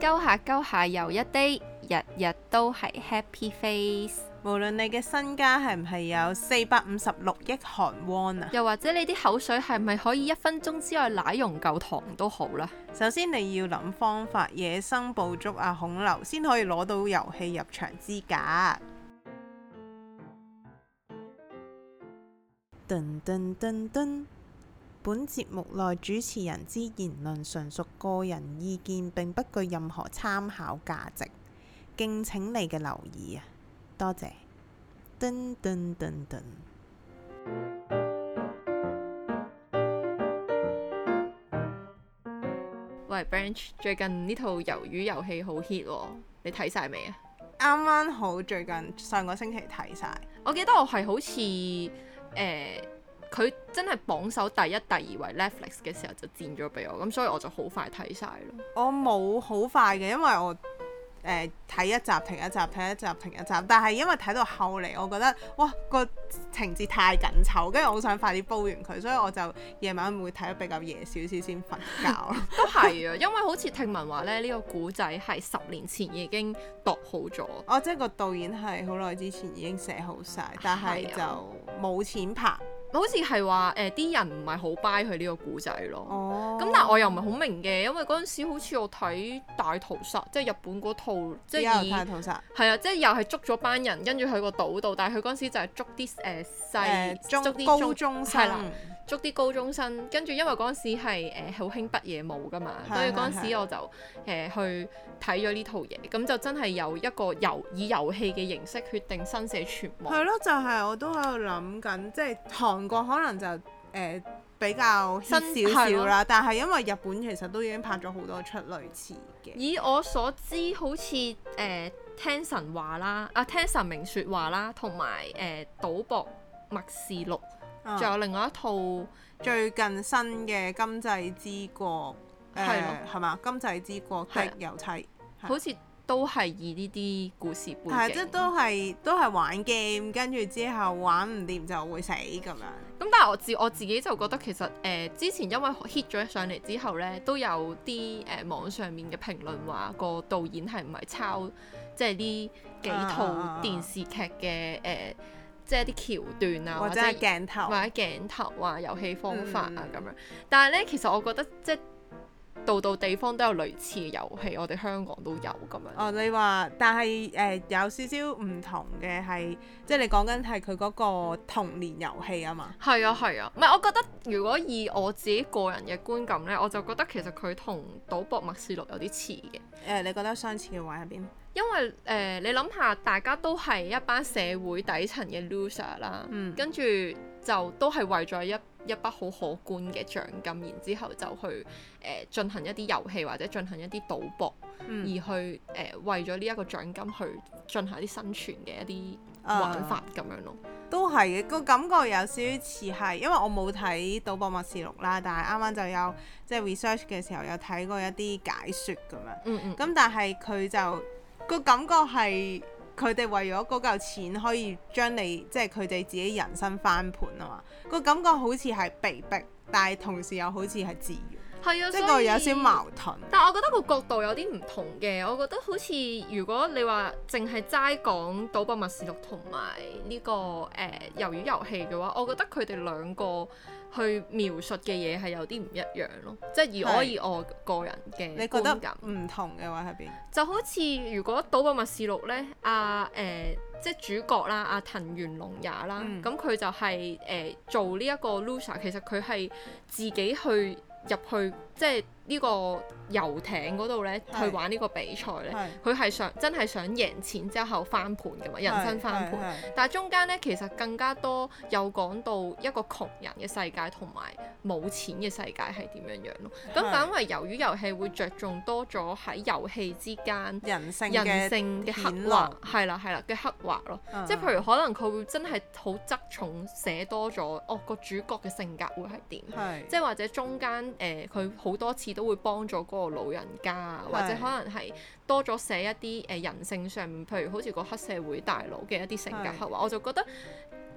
鳩下又一 day， 日日都係 happy face。 無論你嘅身家係唔係有456億韓圜啊， 又或者你啲口水係咪可以1分鐘之內奶溶嚿糖都好啦。 首先你要諗方法，野生捕捉孔劉先可以攞到遊戲入場資格。噔噔噔噔，本節目內主持人之言論純屬個人意見，並不具任何參考價值，敬請你嘅留意啊！多謝。噔噔噔噔。 喂 Branch， 最近呢套魷魚遊戲好 hit 喎，你睇晒未啊？ 啱啱好最近上個星期睇晒。 我記得我係好似佢真係榜首第一、第二位 Netflix 嘅時候就墊咗俾我，咁所以我就好快睇晒咯。 我冇好快嘅，因為我睇一集停一集，睇一集停一集，但係因為睇到後嚟，我覺得哇個情節太緊湊，跟住我好想快啲煲完佢，所以我就夜晚會睇得比較夜少少先瞓覺。 都係啊，因為好似聽聞話咧，呢個古仔係10年前已經度好咗。 哦，即係個導演係好耐之前已經寫好晒，但係就冇錢拍。 好似係話啲人唔係好 buy 佢呢個故仔咯。 哦。 咁但係我又唔係好明嘅，因為嗰陣時好似我睇大屠殺，即係日本嗰套，即係大屠殺。 係啊，即係又係捉咗班人，跟住去個島度，但係佢嗰陣時就係捉啲捉啲高中生。 係啦，捉啲高中生，跟住因為嗰陣時係好興北野武噶嘛，所以嗰陣時我就去睇咗呢套嘢，咁就真係有一個以遊戲嘅形式決定生死存亡。 係咯，就係我都喺度諗緊，即係韓國可能就比較 hit 少少啦，但係因為日本其實都已經拍咗好多出類似嘅。 以我所知，好似聽神話啦，聽神明説話啦，同埋賭博默示錄，仲有另外一套最近新嘅《今際之國》係嘛？《今際之國的遊妻》 好似都係以呢啲故事背景， 係即係都係玩 game， 跟住之後玩唔掂就會死咁樣。 咁但係我自己就覺得其實之前因為 hit 咗上嚟之後呢，都有啲網上面嘅評論話個導演係唔係抄即係呢幾套電視劇嘅即係啲橋段啊， 或者係鏡頭啊、遊戲方法啊咁樣。但係呢，其實我覺得即係度地方都有類似嘅遊戲，我哋香港都有咁樣。 哦，你話，但係有少少唔同嘅係，即係你講緊係佢嗰個童年遊戲啊嘛。 係啊，唔係我覺得如果以我自己個人嘅觀感呢，我就覺得其實佢同賭博默示錄有啲似嘅。 你覺得相似嘅位喺邊？ 因為你諗下，大家都係一班社會底層嘅 loser 啦，跟住就都係為咗一筆好可觀嘅獎金，然之後就去進行一啲遊戲或者進行一啲賭博，而去為咗呢一個獎金去進行一啲生存嘅一啲玩法咁樣咯。 都係嘅，個感覺有少少似係，因為我冇睇《賭博默示錄》啦，但係啱啱就有即係 research 嘅時候有睇過一啲解說咁樣。咁但係佢就個感覺係佢哋為咗嗰嚿錢可以將你即係佢哋自己人生翻盤啊嘛，個感覺好似係被逼，但係同時又好似係自願。 係啊， 即係個有少矛盾。 但係我覺得個角度有啲唔同嘅，我覺得好似如果你話淨係齋講賭博默示錄同埋呢個魷魚遊戲嘅話，我覺得佢哋兩個去描述嘅嘢係有啲唔一樣咯。即係以我個人嘅觀感， 你覺得唔同嘅話喺邊？ 就好似如果賭博默示錄呢，即係主角啦，阿藤原龍也啦，咁佢就係做呢一個 loser， 其實佢係自己去入去即係呢個遊艇嗰度咧，去玩呢個比賽咧，佢係真係想贏錢之後翻盤㗎嘛，人生翻盤。但係中間咧，其實更加多有講到一個窮人嘅世界同埋冇錢嘅世界係點樣樣咯。咁反為魷魚遊戲會着重多咗喺遊戲之間人性嘅刻畫，係啦嘅刻畫咯。即係譬如可能佢會真係好側重寫多咗個主角嘅性格會係點，即係或者中間佢好多次都會幫咗嗰個老人家啊，或者可能係多咗寫一啲人性上面，譬如好似個黑社會大佬嘅一啲性格刻畫，我就覺得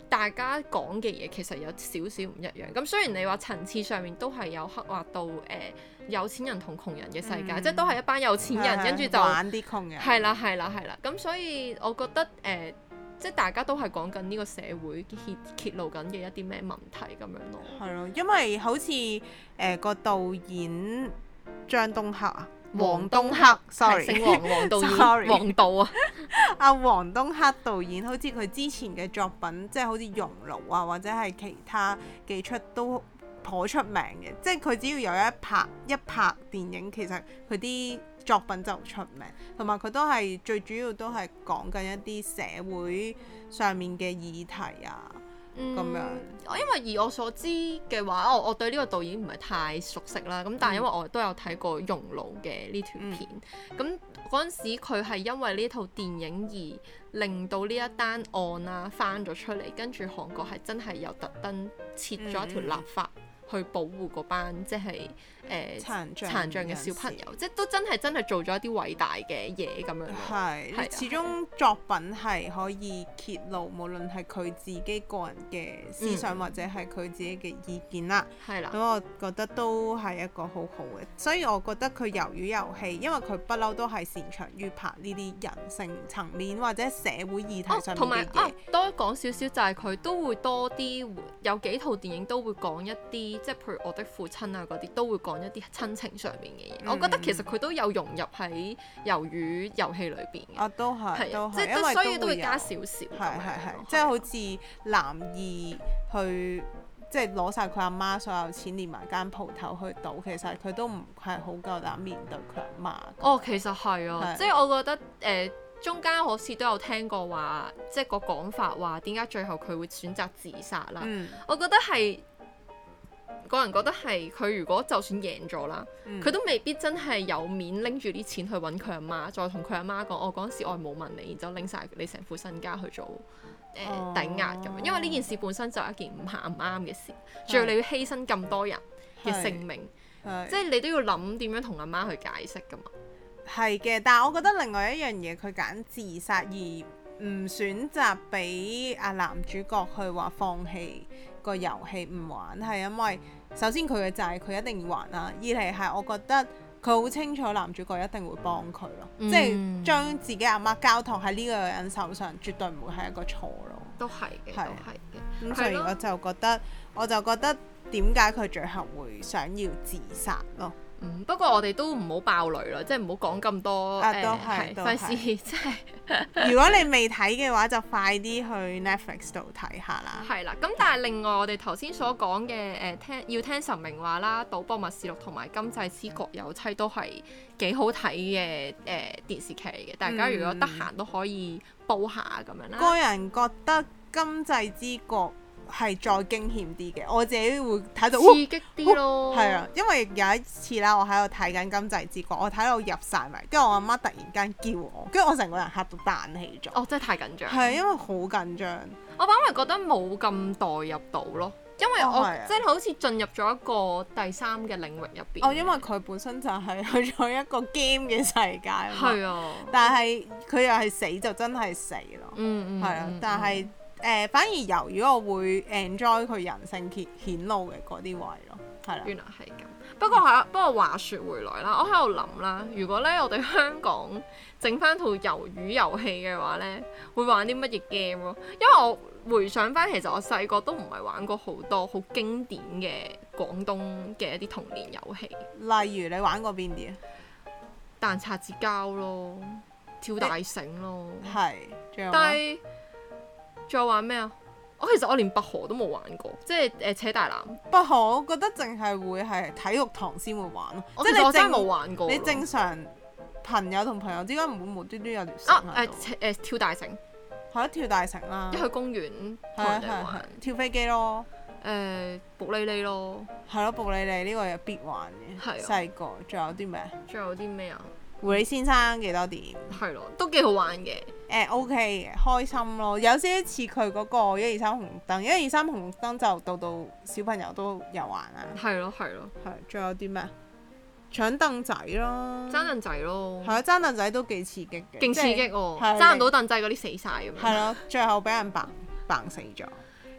大家講嘅嘢其實有少少唔一樣。咁雖然你話層次上面都係有刻畫到有錢人同窮人嘅世界，即係都係一班有錢人，跟住就玩啲窮人。 係啦。咁所以我覺得即係大家都係講緊呢個社會揭露緊嘅一啲咩問題咁樣咯。 係咯，因為好似個導演張東赫啊。黃東赫 ，sorry， 姓黃導演 sorry 黃導啊， 阿黃東赫導演，好似佢之前嘅作品，即係好似《熔爐》啊，或者係其他幾出都頗出名嘅。即係佢只要有一拍電影，其實佢啲作品就出名，同埋佢都係最主要都係講緊一啲社會上面嘅議題啊。咁樣， 因為以我所知嘅話，我對呢個導演唔係太熟悉啦。咁但係因為我都有睇過《熔爐》嘅呢條片，咁嗰陣時佢係因為呢套電影而令到呢一單案啊翻咗出嚟，跟住韓國係真係有特登設咗一條立法去保護嗰班即係殘障嘅小朋友，即係都真係做咗一啲偉大嘅嘢咁樣。 係，始終作品係可以揭露，無論係佢自己個人嘅思想，或者係佢自己嘅意見啦。係啦。咁我覺得都係一個好好嘅，所以我覺得佢魷魚遊戲，因為佢不嬲都係擅長於拍呢啲人性層面或者社會議題上面嘅嘢。同埋多講少少就係佢都會多啲，有幾套電影都會講一啲，即係譬如我的父親啊嗰啲，都會講一啲親情上面嘅嘢。我覺得其實佢都有融入喺魷魚遊戲裏邊嘅。 都係， 即係所以都會加少少。 係，即係好似男二去即係攞晒佢阿媽所有錢，連埋間鋪頭去賭，其實佢都唔係好夠膽面對佢阿媽。 哦，其實係啊，即係我覺得中間好似都有聽過話，即係個講法話點解最後佢會選擇自殺啦。我覺得係。個人覺得係佢如果就算贏咗啦，佢都未必真係有面拎住啲錢去揾佢阿媽，再同佢阿媽講，我嗰陣時我係冇問你，然之後拎晒你成副身家去做抵押咁樣，因為呢件事本身就係一件唔啱嘅事，仲要你要犧牲咁多人嘅性命，即係你都要諗點樣同阿媽去解釋噶嘛。係嘅，但係我覺得另外一樣嘢，佢揀自殺而唔選擇俾阿男主角去話放棄個遊戲唔玩，係因為首先佢嘅債佢一定要還啦，二嚟係我覺得佢好清楚男主角一定會幫佢咯，即係將自己阿媽交託喺呢個人手上，絕對唔會係一個錯咯。都係嘅，都係嘅。咁所以我就覺得點解佢最後會想要自殺咯。 不過我哋都唔好爆雷啦，即係唔好講咁多費事即係。 如果你未睇嘅話，就快啲去 Netflix 度睇下啦。 係啦，咁但係另外我哋頭先所講嘅要聽神明話啦，《賭博默示錄》同埋《今際之國有妻》都係幾好睇嘅電視劇嚟嘅，大家如果得閒都可以煲下咁樣啦。 個人覺得《今際之國》係再驚險啲嘅，我自己會睇到刺激啲咯。 係啊，因為有一次啦，我喺度睇緊《今際之國》，我睇到入晒迷，跟住我阿媽突然間叫我，跟住我成個人嚇到彈起咗。 哦，真係太緊張。 係因為好緊張。 我反而覺得冇咁代入到咯，因為我即係好似進入咗一個第三嘅領域入邊。 因為佢本身就係去咗一個 game 嘅世界。 係啊。 但係佢又係死就真係死咯。係啊，但係。反而由於我會 enjoy 佢人性顯露嘅嗰啲位咯，係啦。原來係咁。 不過話說回來啦，我喺度諗啦，如果咧我哋香港整翻套魷魚遊戲嘅話咧，會玩啲乜嘢 game 咯？因為我回想翻，其實我細個都唔係玩過好多好經典嘅廣東嘅一啲童年遊戲。 例如你玩過邊啲啊？ 彈擦紙膠咯，跳大繩咯。 係。 但係仲有玩咩啊？其實我連拔河都冇玩過，即係扯大纜。 拔河我覺得淨係會係體育堂先會玩咯。 即係我真係冇玩過。 你正常朋友同朋友之間唔會無端端有條繩喺度。 跳大繩。係啊，跳大繩啦。 一去公園同人哋玩。 跳飛機咯。 卜哩哩咯。係咯，卜哩哩呢個有必玩嘅。係。細個仲有啲咩？ 仲有啲咩啊？ 狐狸先生幾多點？ 係咯，都幾好玩嘅。 OK 嘅，開心咯。有些似佢嗰個1、2、3紅燈，1、2、3紅燈就到小朋友都有玩啦。係咯。係。仲有啲咩？搶凳仔咯。爭凳仔咯。係啊，爭凳仔都幾刺激嘅。勁刺激喎！爭唔到凳仔嗰啲死晒咁樣。係咯，最後俾人嘭死咗。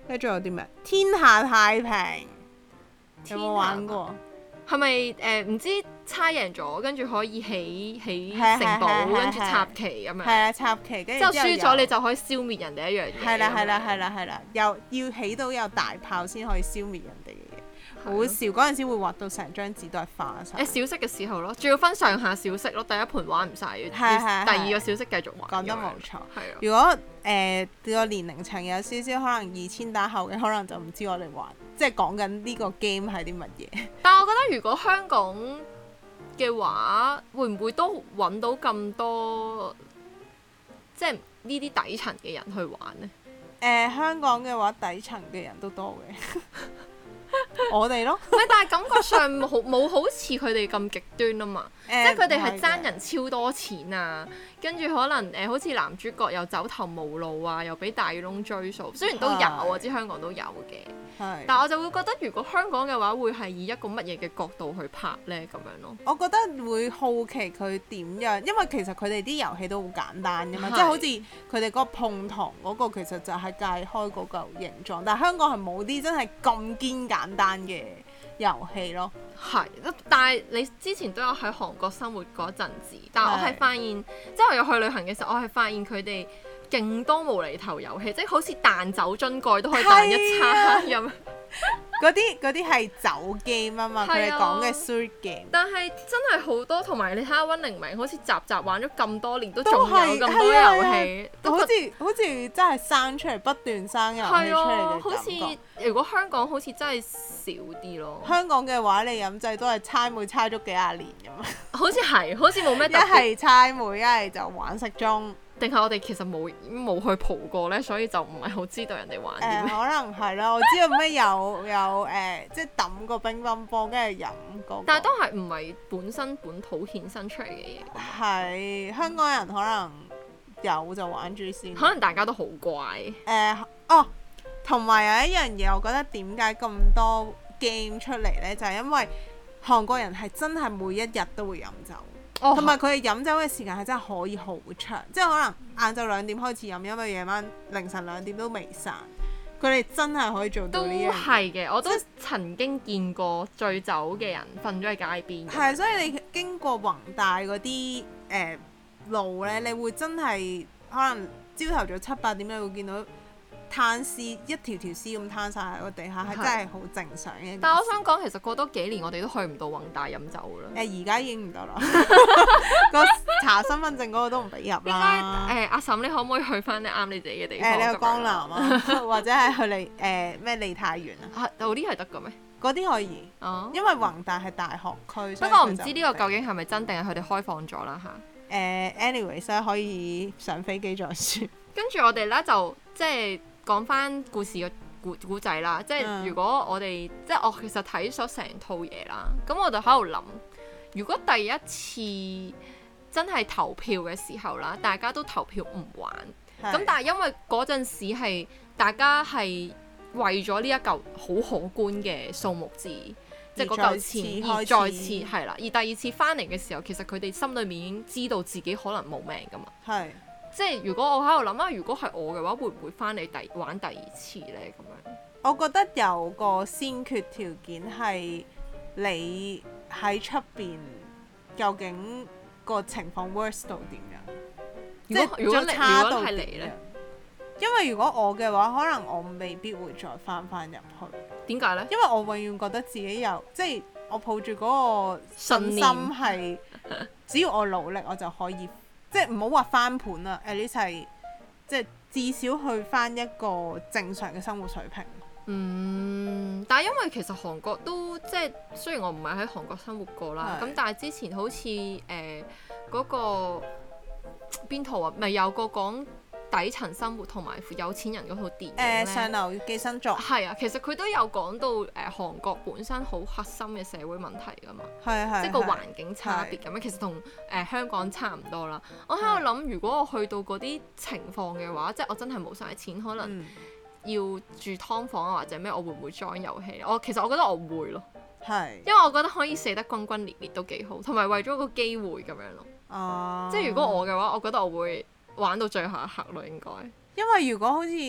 跟住仲有啲咩？天下太平有冇玩過？ 係咪唔知猜贏咗，跟住可以起城堡，跟住插旗咁樣？ 係啊，插旗，跟住之後輸咗你就可以消滅人哋一樣嘢。 係啦，又要起到有大炮先可以消滅人哋嘅嘢。好笑，嗰陣時會畫到成張紙都係花晒。 小息嘅時候咯，仲要分上下小息咯，第一盤玩唔晒，第二個小息繼續玩。 講得冇錯。 係啊。 如果個年齡層有少少可能2000打後嘅，可能就唔知我哋玩，即係講緊呢個 game 係啲乜嘢。 但係我覺得如果香港嘅話，會唔會都揾到咁多即係呢啲底層嘅人去玩呢？ 香港嘅話，底層嘅人都多嘅。我哋咯， 但係感覺上冇好似佢哋咁極端啊嘛，即係佢哋係爭人超多錢啊，跟住可能好似男主角又走投無路啊，又俾大耳窿追數，雖然都有我知香港都有嘅，但我就會覺得如果香港嘅話，會係以一個乜嘢嘅角度去拍呢？咁樣咯。我覺得會好奇佢點樣，因為其實佢哋啲遊戲都好簡單㗎嘛，即係好似佢哋嗰個碰糖嗰個其實就係界開嗰嚿形狀，但係香港係冇啲真係咁堅簡單嘅遊戲咯。 係，但係你之前都有喺韓國生活嗰陣子，但係我係發現，即係我有去旅行嘅時候，我係發現佢哋勁多無厘頭遊戲，即係好似彈酒樽蓋都可以彈一餐咁。 嗰啲係酒 game 啊嘛，佢哋講嘅 street game。 但係真係好多，同埋你睇下溫寧明，好似集玩咗咁多年，都仲有咁多遊戲， 好似真係生出嚟不斷生遊戲出嚟嘅感覺。 好似如果香港好似真係少啲咯。 香港嘅話，你飲製都係猜枚猜咗幾廿年咁啊。 好似冇咩特別。 一係猜枚，一係就玩骰盅。 定係我哋其實冇去蒲過呢，所以就唔係好知道人哋玩啲咩。 可能係啦，我知道咩有即係抌個乒乓波，跟住飲嗰個。但係都係唔係本身本土衍生出嚟嘅嘢。 係香港人可能有就玩住先。 可能大家都好乖。 同埋有一樣嘢，我覺得點解咁多 game 出嚟呢？就係因為韓國人係真係每一日都會飲酒。同埋佢哋飲酒嘅時間係真係可以好長，即係可能晏晝2點開始飲，因為夜晚凌晨2點都未散。佢哋真係可以做到呢樣嘢。都係嘅，我都曾經見過醉酒嘅人瞓咗喺街邊。係，所以你經過宏大嗰啲路呢，你會真係可能朝頭早7、8點你會見到攤屍一條條屍咁攤晒喺個地下，係真係好正常嘅。但係我想講，其實過多幾年我哋都去唔到宏大飲酒啦。而家已經唔得啦，個查身份證嗰個都唔俾入啦。阿嬸，你可唔可以去翻你啱你自己嘅地方？你去江南啊，或者係去咩梨泰院啊？嗰啲係得嘅咩？嗰啲可以，因為宏大係大學區。不過我唔知呢個究竟係咪真定係佢哋開放咗啦嚇。anyways 可以上飛機再説。跟住我哋咧就即係。講翻故事嘅故仔啦，即係如果我哋即係我其實睇咗成套嘢啦，咁我就喺度諗，如果第一次真係投票嘅時候啦，大家都投票唔玩，咁但係因為嗰陣時係大家係為咗呢一嚿好可觀嘅數目字，即係嗰嚿錢而再次係啦，而第二次翻嚟嘅時候，其實佢哋心裏面已經知道自己可能冇命噶嘛。係。即係如果我喺度諗啊，如果係我嘅話，會唔會翻嚟玩第二次呢？咁樣，我覺得有個先決條件係你喺出邊究竟個情況 worse 到點樣？如果差到係你呢？因為如果我嘅話，可能我未必會再翻入去。點解呢？因為我永遠覺得自己有即係我抱住嗰個信心係，只要我努力，我就可以。即係唔好話翻盤啦 at least 係即係至少去翻一個正常嘅生活水平。但係因為其實韓國都即係雖然我唔係喺韓國生活過啦，咁但係之前好似嗰個邊套啊，咪有個講底層生活同埋有錢人嗰套電影咧，上流寄生族。係啊，其實佢都有講到韓國本身好核心嘅社會問題㗎嘛，即係個環境差別咁樣，其實同香港差唔多啦。我喺度諗，如果我去到嗰啲情況嘅話，即係我真係冇晒錢，可能要住劏房啊或者咩，我會唔會 join 遊戲？其實我覺得我會咯，因為我覺得可以死得轟轟烈烈都幾好，同埋為咗個機會咁樣咯。即係如果我嘅話，我覺得我會玩到最後一刻咯，應該。因為如果好似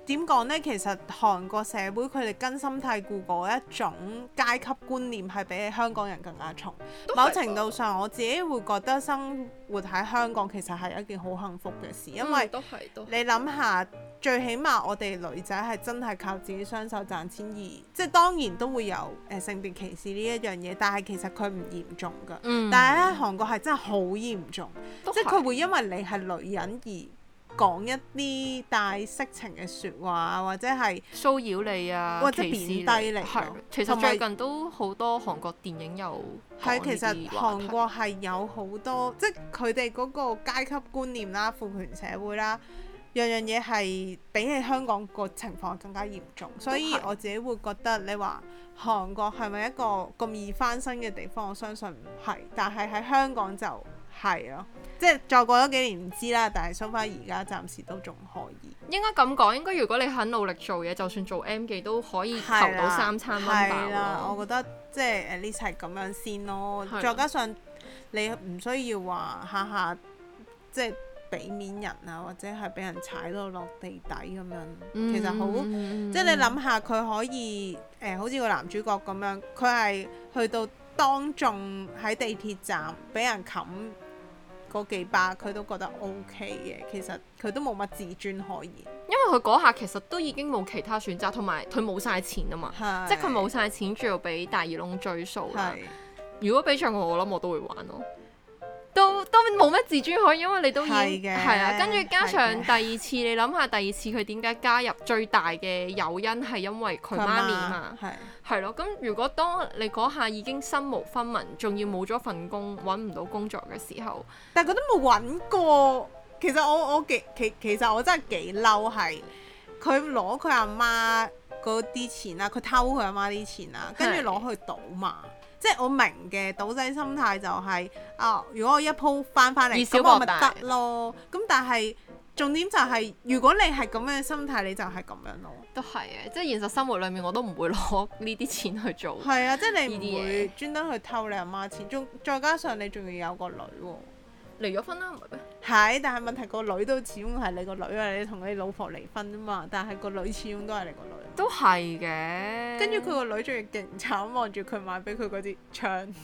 點講呢？其實韓國社會佢哋根深蒂固嗰一種階級觀念係比起香港人更加重。某程度上，我自己會覺得生活喺香港其實係一件好幸福嘅事，因為你諗下，最起碼我哋女仔係真係靠自己雙手賺錢，而即係當然都會有性別歧視呢一樣嘢，但係其實佢唔嚴重㗎。但係咧，韓國係真係好嚴重，即係佢會因為你係女人而講一啲帶色情嘅説話，或者係騷擾你啊， 或者貶低你。 係，其實最近都好多韓國電影有講呢啲話題。係，其實韓國係有好多，即係佢哋嗰個階級觀念啦、父權社會啦，樣樣嘢係比起香港個情況更加嚴重。所以我自己會覺得，你話韓國係咪一個咁易翻身嘅地方？我相信唔係，但係喺香港就係咯。即係再過咗幾年唔知啦，但係 so far 而家暫時都仲可以。應該咁講，應該如果你肯努力做嘢，就算做 M 記都可以求到3餐溫飽咯。係啦，我覺得即係at least係咁樣先咯。再加上你唔需要話下下即係俾面人啊，或者係俾人踩到落地底咁樣。其實好，即係你諗下佢可以好似個男主角咁樣，佢係去到當眾喺地鐵站俾人冚嗰幾巴，佢都覺得 OK 嘅。其實佢都冇乜自尊可言，因為佢嗰下其實都已經冇其他選擇，同埋佢冇晒錢啊嘛，即係佢冇晒錢，仲要俾大耳窿追數啦。如果俾着我諗我都會玩咯。都冇乜自尊可以，因為你都已經係啊，跟住加上第二次，你諗下第二次佢點解加入最大嘅誘因係因為佢媽咪嘛，係咯。咁如果當你嗰下已經身無分文，仲要冇咗份工，揾唔到工作嘅時候，但係佢都冇揾過。其實我其實我真係幾嬲，係佢攞佢阿媽嗰啲錢啦，佢偷佢阿媽啲錢啦，跟住攞去賭嘛。即係我明嘅賭仔心態就係如果我一鋪翻嚟，咁我咪得咯。咁但係重點就係，如果你係咁樣嘅心態，你就係咁樣咯。都係嘅，即係現實生活裡面我都唔會攞呢啲錢去做。係啊，即係你唔會專登去偷你阿媽錢，再加上你仲要有個女喎。離咗婚啦，唔係咩？係，但係問題個女都始終係你個女啊！你同你老婆離婚啊嘛，但係個女始終都係你個女。都係嘅。跟住佢個女仲要勁慘，望住佢買俾佢嗰支槍。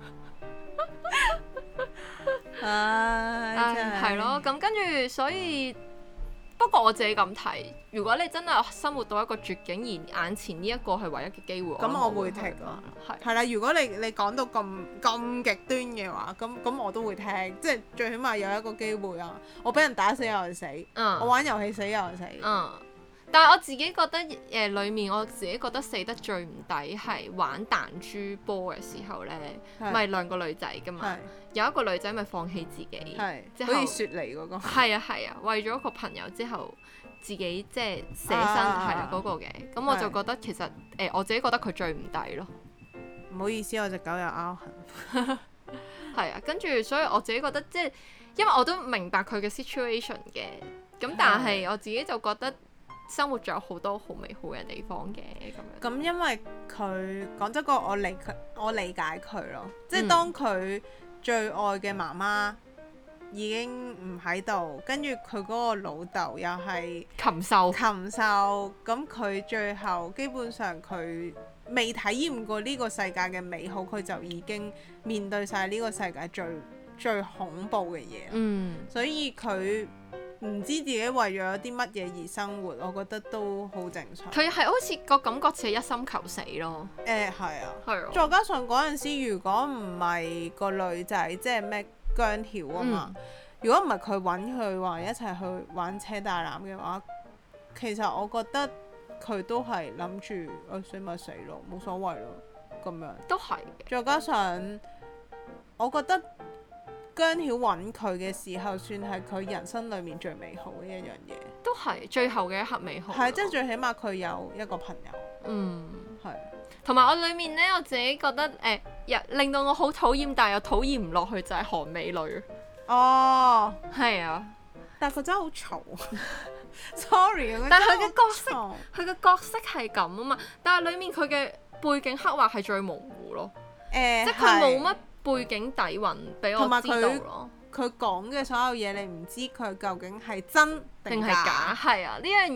唉，真係。係咯，咁跟住所以。不過我自己咁睇，如果你真係生活到一個絕境，而眼前呢一個係唯一嘅機會，咁我會聽咯。係啦，如果你講到咁極端嘅話，咁我都會聽，即係最起碼有一個機會啊！我俾人打死有人死，我玩遊戲死有人死。但係我自己覺得裡面我自己覺得死得最唔抵係玩彈珠波嘅時候呢，咪兩個女仔㗎嘛，有一個女仔咪放棄自己，即係好似雪梨嗰個。係啊，為咗個朋友之後自己即係捨身係嗰個嘅，咁我就覺得其實我自己覺得佢最唔抵咯。唔好意思，我隻狗有拗痕。係啊，跟住所以我自己覺得即係因為我都明白佢嘅 situation 嘅，咁但係我自己就覺得。生活仲有好多好美好嘅地方嘅咁樣。咁因為佢講真個，我理解佢咯，即係當佢最愛嘅媽媽已經唔喺度，跟住佢嗰個老豆又係禽獸，咁佢最後基本上佢未體驗過呢個世界嘅美好，佢就已經面對晒呢個世界最恐怖嘅嘢。所以佢唔知自己為咗啲乜嘢而生活，我覺得都好正常。佢係好似個感覺似係一心求死咯。係啊。係啊。再加上嗰陣時，如果唔係個女仔，即係咩姜曉啊嘛，如果唔係佢揾佢話一齊去玩車大欖嘅話，其實我覺得佢都係諗住死咪死咯，冇所謂咯，咁樣。都係嘅。再加上，我覺得。姜曉揾佢嘅時候，算係佢人生裡面最美好嘅一樣嘢。都係最後嘅一刻美好。係，即係最起碼佢有一個朋友。係。同埋我裡面呢，我自己覺得令到我好討厭，但係又討厭唔落去就係韓美女。哦。係啊。但係佢真係好嘈。Sorry 啊。但係佢嘅角色係咁啊嘛，但係裡面佢嘅背景刻畫係最模糊咯。即係佢冇乜。背景底蘊俾我知道咯，佢講嘅所有嘢你唔知佢究竟係真定係假，係啊，呢樣嘢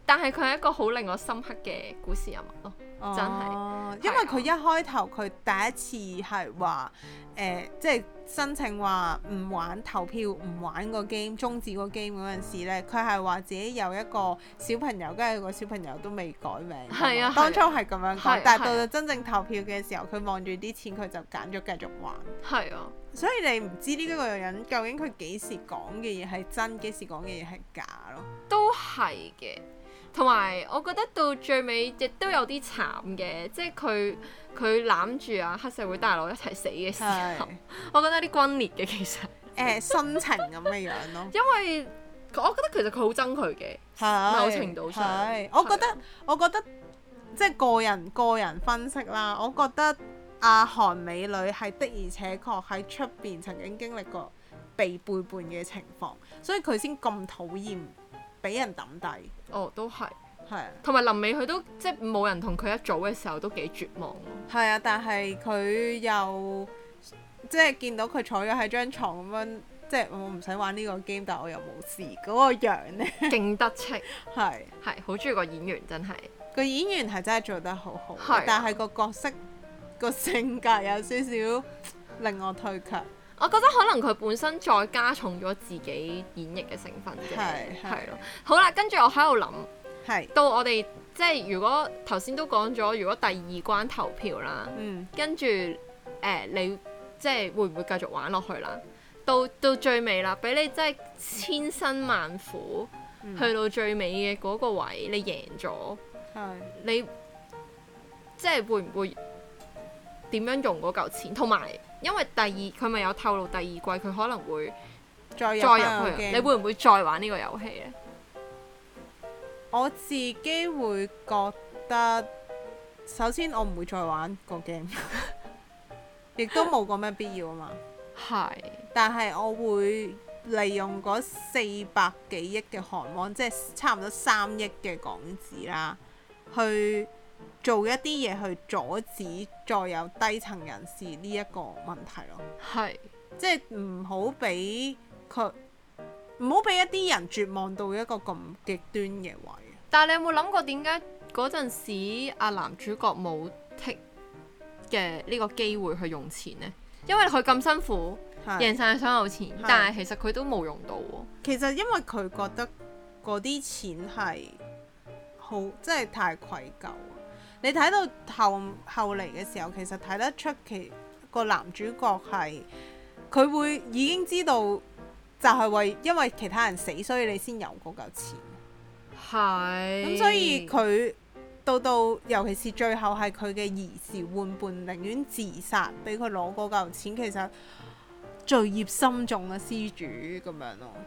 但係佢係一個好令我深刻嘅故事人物咯，真係。 因為佢一開頭佢第一次係話即係申請話唔玩投票，唔玩個 game， 終止個 game 嗰陣時咧，佢係話自己有一個小朋友，跟住個小朋友都未改名。係啊，當初係咁樣講，但係到到真正投票嘅時候，佢望住啲錢，佢就揀咗繼續玩。係啊，所以你唔知呢個人究竟佢幾時講嘅嘢係真，幾時講嘅嘢係假咯。 都係嘅。同埋我覺得到最尾亦都有啲慘嘅，即係佢攬住啊黑社會大佬一齊死嘅時候，我覺得有啲轟烈嘅其實。 心情咁嘅樣咯。 因為我覺得其實佢好憎佢嘅，某程度上。 我覺得即係個人分析啦，我覺得阿韓美女係的而且確喺出邊曾經經歷過被背叛嘅情況，所以佢先咁討厭俾人抌低。哦， 都係。 係啊。同埋臨尾佢都即係冇人同佢一組嘅時候都幾絕望咯。 係啊，但係佢又即係見到佢坐咗喺張床咁樣，即係我唔使玩呢個 game，但係我又冇事嗰個樣咧， 勁得戚。 係好中意個演員，真係個演員係真係做得好好，但係個角色個性格有少少令我退卻。 我覺得可能佢本身再加重咗自己演繹嘅成分啫，係咯。好啦，跟住我喺度諗，到我哋即係如果頭先都講咗，如果第二關投票啦，跟住你即係會唔會繼續玩落去啦？到最尾啦，俾你真係千辛萬苦去到最尾嘅嗰個位，你贏咗，你即係會唔會點樣用嗰嚿錢？同埋因為佢咪有透露第二季佢可能會再入去，你會唔會再玩呢個遊戲呢？ 我自己會覺得，首先我唔會再玩個 game， 亦都冇咁咩必要啊嘛。係。但係我會利用嗰400幾億嘅韓圜，即係差唔多3億嘅港紙啦，去做一啲嘢去阻止再有低層人士呢一個問題咯。係，即係唔好俾一啲人絕望到一個咁極端嘅位。 但係你有冇諗過點解嗰陣時阿男主角冇 take 嘅呢個機會去用錢呢？因為佢咁辛苦贏晒所有錢，但係其實佢都冇用到喎。 其實因為佢覺得嗰啲錢係好，真係太愧疚。你睇到後嚟嘅時候，其實睇得出個男主角係佢會已經知道，就係因為其他人死，所以你先有嗰嚿錢。係。咁所以佢到尤其是最後係佢嘅兒時玩伴寧願自殺，俾佢攞嗰嚿錢，其實罪孽深重嘅施主咁樣咯。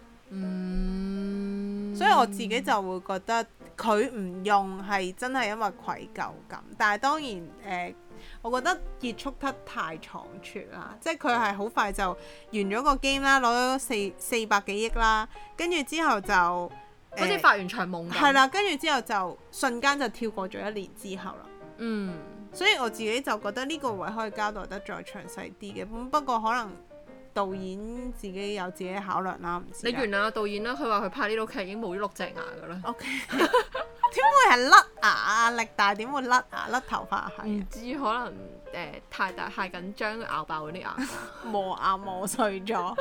所以我自己就會覺得佢唔用係真係因為愧疚感，但係當然我覺得結束得太倉促啦，即係佢係好快就完咗個 game 啦，攞咗400幾億啦，跟住之後就好似發完場夢咁。 係啦，跟住之後就瞬間就跳過咗1年之後啦。所以我自己就覺得呢個位可以交代得再詳細啲嘅，不過可能導演自己有自己考量啦，唔知。 你原諒導演啦，佢話佢拍呢套劇已經冇咗6隻牙噶啦。 OK， 點會係甩牙？力大點會甩牙？甩頭髮係？ 唔知可能太大太緊張咬爆嗰啲牙， 磨牙磨碎咗。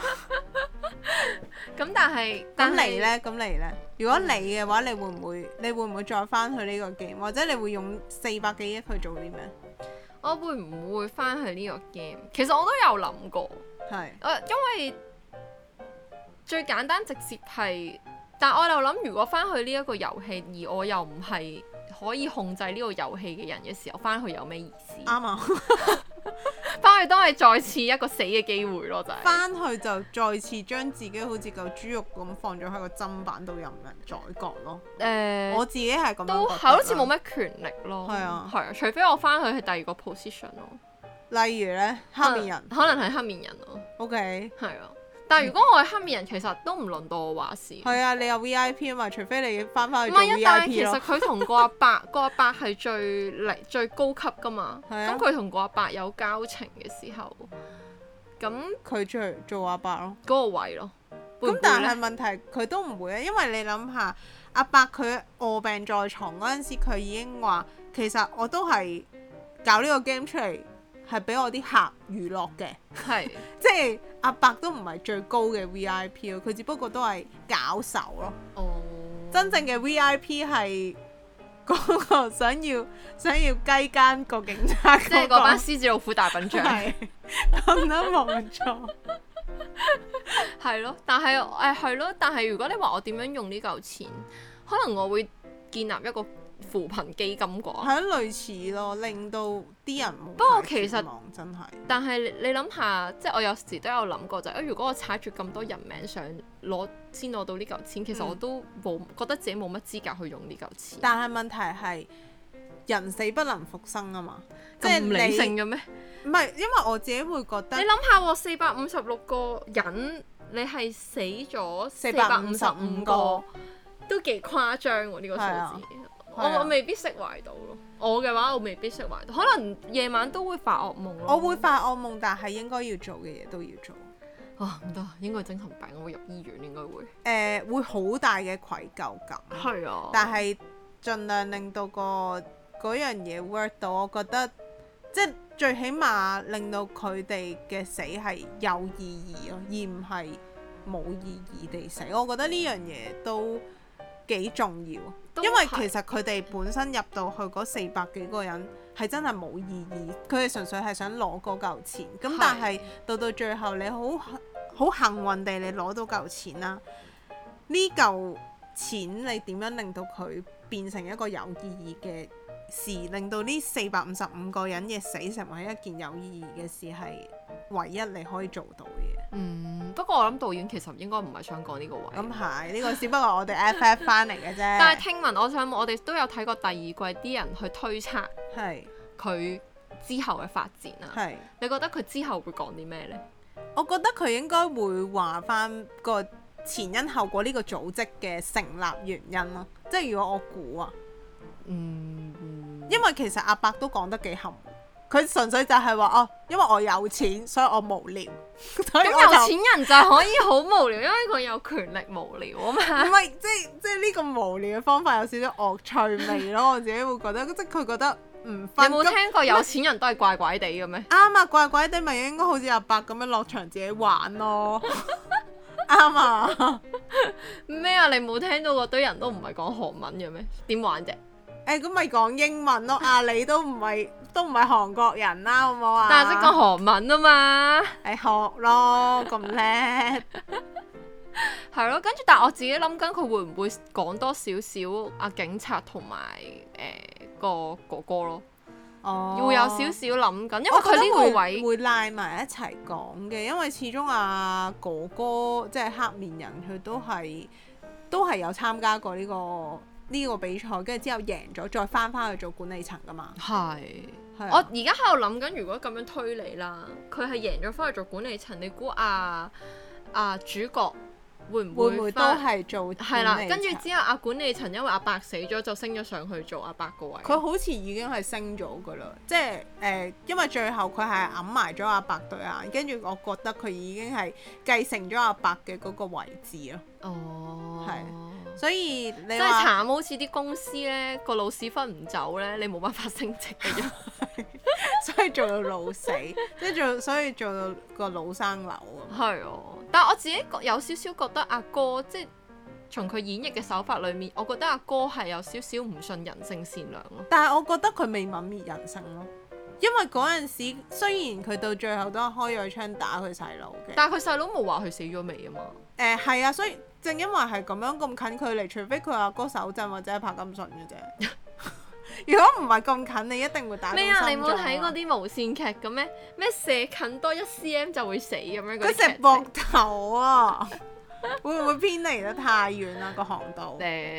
咁但係咁你呢？如果你嘅話，你會唔會再翻去呢個 game，或者你會用400幾億去做啲咩？ 我會唔會翻去呢個 game？其實我都有諗過，因為最簡單直接係，但我又諗如果翻去呢一個遊戲，而我又唔係可以控制呢個遊戲嘅人嘅時候，翻去有咩意思？啱啊！翻去都係再次一個死嘅機會咯，就係翻去就再次將自己好似嚿豬肉咁放咗喺個砧板度，任人宰割咯。我自己係咁樣覺得， 都係好似冇咩權力咯。 係啊， 除非我翻去係第二個 position 咯。 例如呢，黑面人， 可能係黑面人咯。 OK， 係啊。但係如果我係黑面人，其實都唔輪到我話事。 係啊，你有 VIP 啊嘛，除非你翻去做 VIP 咯。唔係啊， 但係其實佢同個阿伯係最高級噶嘛。咁佢同個阿伯有交情嘅時候，咁佢做阿伯咯。 嗰個位咯。 咁但係問題佢都唔會啊，因為你諗下阿伯佢臥病在床嗰陣時，佢已經話其實我都係搞呢個 game 出嚟係俾我啲客娛樂嘅， 係即係阿伯都唔係最高嘅 VIP 咯，佢只不過都係搞手咯。真正嘅 VIP 係嗰個想要雞奸個警察， 即係嗰班獅子老虎大笨象。 係講得冇錯。 係咯，但係係咯，但係如果你話我點樣用呢嚿錢，可能我會建立一個扶貧基金啩。 係類似咯，令到啲人冇。 不過其實真係， 但係你諗下，即係我有時都有諗過就係，如果我踩住咁多人命上先攞到呢嚿錢，其實我都覺得自己冇乜資格去用呢嚿錢。 但係問題係人死不能復生啊嘛，即係唔理性嘅咩？ 唔係，因為我自己會覺得你諗下喎，456個人，你係死咗455個，都幾誇張喎呢個數字。我未必釋懷到咯。我嘅話，我未必釋懷到，可能夜晚都會發噩夢咯。 我會發噩夢，但係應該要做嘅嘢都要做。 唔得，應該精神病，我會入醫院應該會。 會好大嘅愧疚感。 係啊。 但係盡量令到嗰樣嘢 work 到，我覺得即係最起碼令到佢哋嘅死係有意義咯，而唔係冇意義地死。我覺得呢樣嘢都幾重要，因為其實佢哋本身入到去嗰400幾個人係真係冇意義，佢哋純粹係想攞嗰嚿錢。咁但係到最後你好幸運地你攞到嚿錢啦，呢嚿錢你點樣令到佢變成一個有意義嘅事，令到呢455個人嘅死成為一件有意義嘅事，係唯一你可以做到嘅。 不過我諗導演其實應該唔係想講呢個位。 咁係呢個只不過我哋 FF 翻嚟嘅啫。 但係聽聞我哋都有睇過第二季啲人去推測佢之後嘅發展啊。係。你覺得佢之後會講啲咩呢？ 我覺得佢應該會話翻個前因後果呢個組織嘅成立原因咯。即係如果我估啊，因為其實阿伯都講得幾含糊。佢純粹就係話因為我有錢，所以我無聊。咁有錢人就可以好無聊，因為佢有權力無聊啊嘛。 唔係，即係呢個無聊嘅方法有少少惡趣味咯。我自己會覺得，即係佢覺得唔分。你冇聽過有錢人都係怪怪地嘅咩？ 啱啊，怪怪地咪應該好似阿伯咁樣落場自己玩咯。啱啊。 咩啊？你冇聽到嗰堆人都唔係講韓文嘅咩？點玩啫？ 咁咪講英文咯。你都唔係韓國人啦，好唔好啊？ 但係識講韓文啊嘛。 學咯，咁叻。 係咯，跟住但係我自己諗緊佢會唔會講多少少警察同埋個哥哥咯。會有少少諗緊，因為佢呢個位會拉埋一齊講嘅，因為始終哥哥即係黑面人，佢都係有參加過呢個比賽，跟住之後贏咗，再翻去做管理層噶嘛。我而家喺度諗緊，如果咁樣推理啦，佢係贏咗翻去做管理層，你估主角會唔會都係做？ 係啦，跟住之後管理層因為阿伯死咗，就升咗上去做阿伯個位。 佢好似已經係升咗噶啦，即係因為最後佢係揞埋咗阿伯對眼，跟住我覺得佢已經係繼承咗阿伯嘅嗰個位置咯。係，所以你真係慘，好似啲公司咧個老屎忽唔走咧，你冇辦法升職嘅啫。 所以做到老死，所以做到個老生瘤啊。 係啊，但係我自己有少少覺得阿哥，即係從佢演繹嘅手法裏面，我覺得阿哥係有少少唔信人性善良咯。 但係我覺得佢未泯滅人性咯，因為嗰陣時雖然佢到最後都係開咗槍打佢細佬嘅， 但係佢細佬冇話佢死咗未啊嘛。 係啊，所以正因為係咁樣咁近距離，除非佢阿哥手震或者係柏金遜嘅啫。如果唔係咁近，你一定會打到心臟。咩啊？ 你冇睇嗰啲無線劇嘅咩？咩射近多1cm 就會死咁樣？ 佢食膊頭啊！會唔會偏離得太遠啊？個航道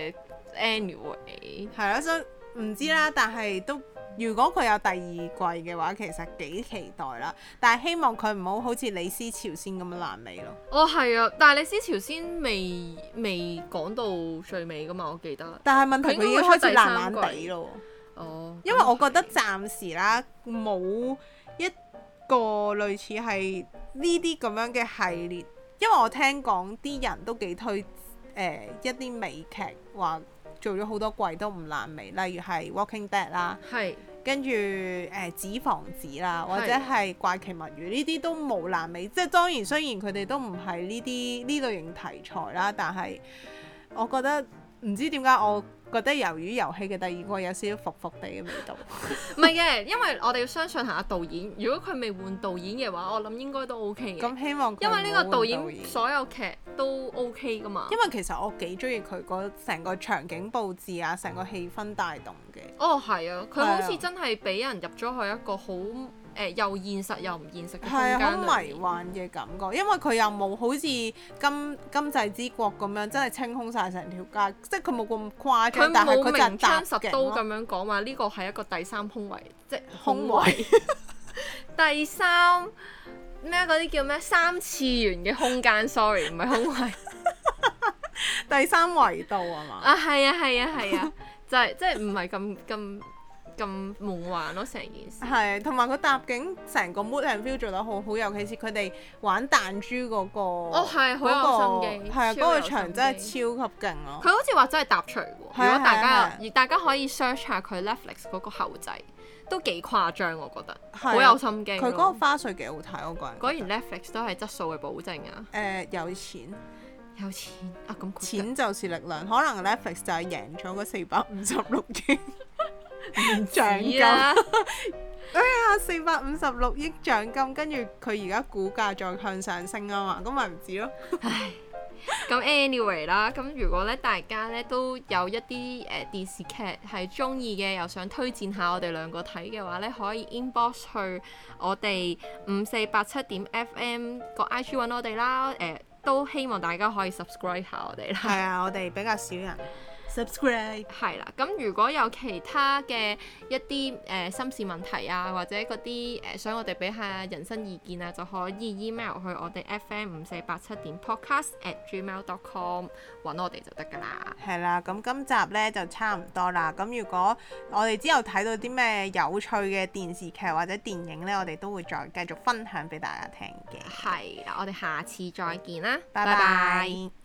？Anyway 係咯，所以唔知啦。但係都如果佢有第二季嘅話，其實幾期待啦。但係希望佢唔好似李屍朝鮮咁樣爛尾咯。 係啊，但係李屍朝鮮未講到最尾噶嘛，我記得。 但係問題佢已經開始爛爛地咯。因為我覺得暫時啦，冇一個類似係呢啲咁樣嘅系列因為我聽講啲人都幾推一啲美劇，話做咗好多季都唔爛尾，例如係 Walking Dead 啦，跟住紙房子啦，或者係怪奇物語呢啲都冇爛尾。即係當然雖然佢哋都唔係呢類型題材啦，但係我覺得唔知點解我覺得魷魚遊戲嘅第二季有少少伏伏地嘅味道。 唔係嘅，因為我哋要相信下導演。如果佢未換導演嘅話，我諗應該都 OK 嘅。 咁希望佢因為呢個導演所有劇都 OK 噶嘛。 因為其實我幾中意佢嗰成個場景佈置啊，成個氣氛帶動嘅。 哦，係啊，佢好似真係俾人入咗去一個好又現實又唔現實嘅空間裏面。係啊， 好迷幻嘅感覺，因為佢又冇好似今際之國咁樣真係清空晒成條街，即係佢冇咁誇張，但係佢明槍實刀咁樣講話呢個係一個第三空位，即係空位。第三咩嗰啲叫咩三次元嘅空間 ，sorry 唔係空位。 第三維度啊嘛。 啊係啊，就係即係唔係咁夢幻咯，成件事。 係，同埋佢搭景成個 mood and feel 做得好好，尤其是佢哋玩彈珠嗰個。 哦，係好有心機。 係啊，嗰個場真係超級勁咯。 佢好似話真係搭除喎。如果大家可以 search 下佢 Netflix 嗰個後製，都幾誇張，我覺得。好有心機。 佢嗰個花絮幾好睇，我個人。 果然 Netflix 都係質素嘅保證啊。 有錢。有錢啊！咁錢就是力量，可能 Netflix 就係贏咗嗰456億獎金。哎呀，456億獎金，跟住佢而家股價再向上升啊嘛，咁咪唔知咯。 唉，咁 anyway 啦，咁如果咧大家咧都有一啲電視劇係中意嘅，又想推薦下我哋兩個睇嘅話咧，可以 inbox 去我哋5487.FM 個 IG 揾我哋啦。都希望大家可以 subscribe 下我哋啦。 係啊，我哋比較少人 subscribe。 係啦，咁如果有其他嘅一啲心事問題啊，或者嗰啲想我哋俾下人生意見啊，就可以 email 去我哋 fm5487.podcast@gmail.com 揾我哋就得㗎啦。 係啦，咁今集呢就差唔多啦。咁如果我哋之後睇到啲咩有趣嘅電視劇或者電影呢，我哋都會再繼續分享俾大家聽嘅。 係啦，我哋下次再見啦， 拜拜。